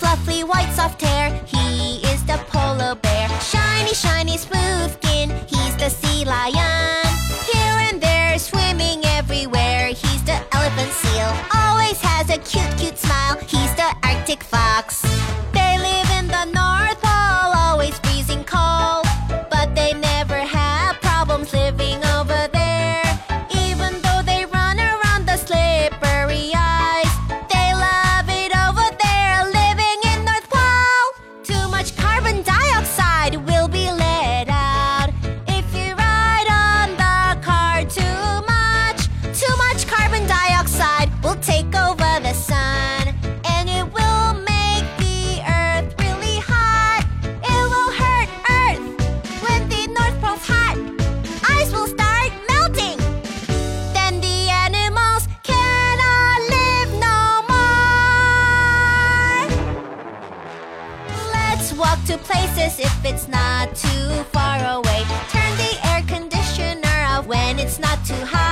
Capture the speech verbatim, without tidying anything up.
fluffy white soft hair, he is the polar bear. Shiny, shiny, smooth skin, he's the sea lion. Here and there, swimming everywhere, he's the elephant seal. Always has a cute, cute smile, he's the Arctic fox. They live in the North Pole, always freezing cold, but they never have problems living over there. Even though they run around the slippery ice, they love it over there, living in North Pole. Too much carbon dioxide will be let out if you ride on the car too much. Too much carbon dioxide will take over the sun, and it will make the earth really hot. It will hurt Earth when the North Pole's hot. Ice will start melting. Then the animals cannot live no more. Let's walk to places if it's not too far away. Turn the air conditioner off when it's not too hot.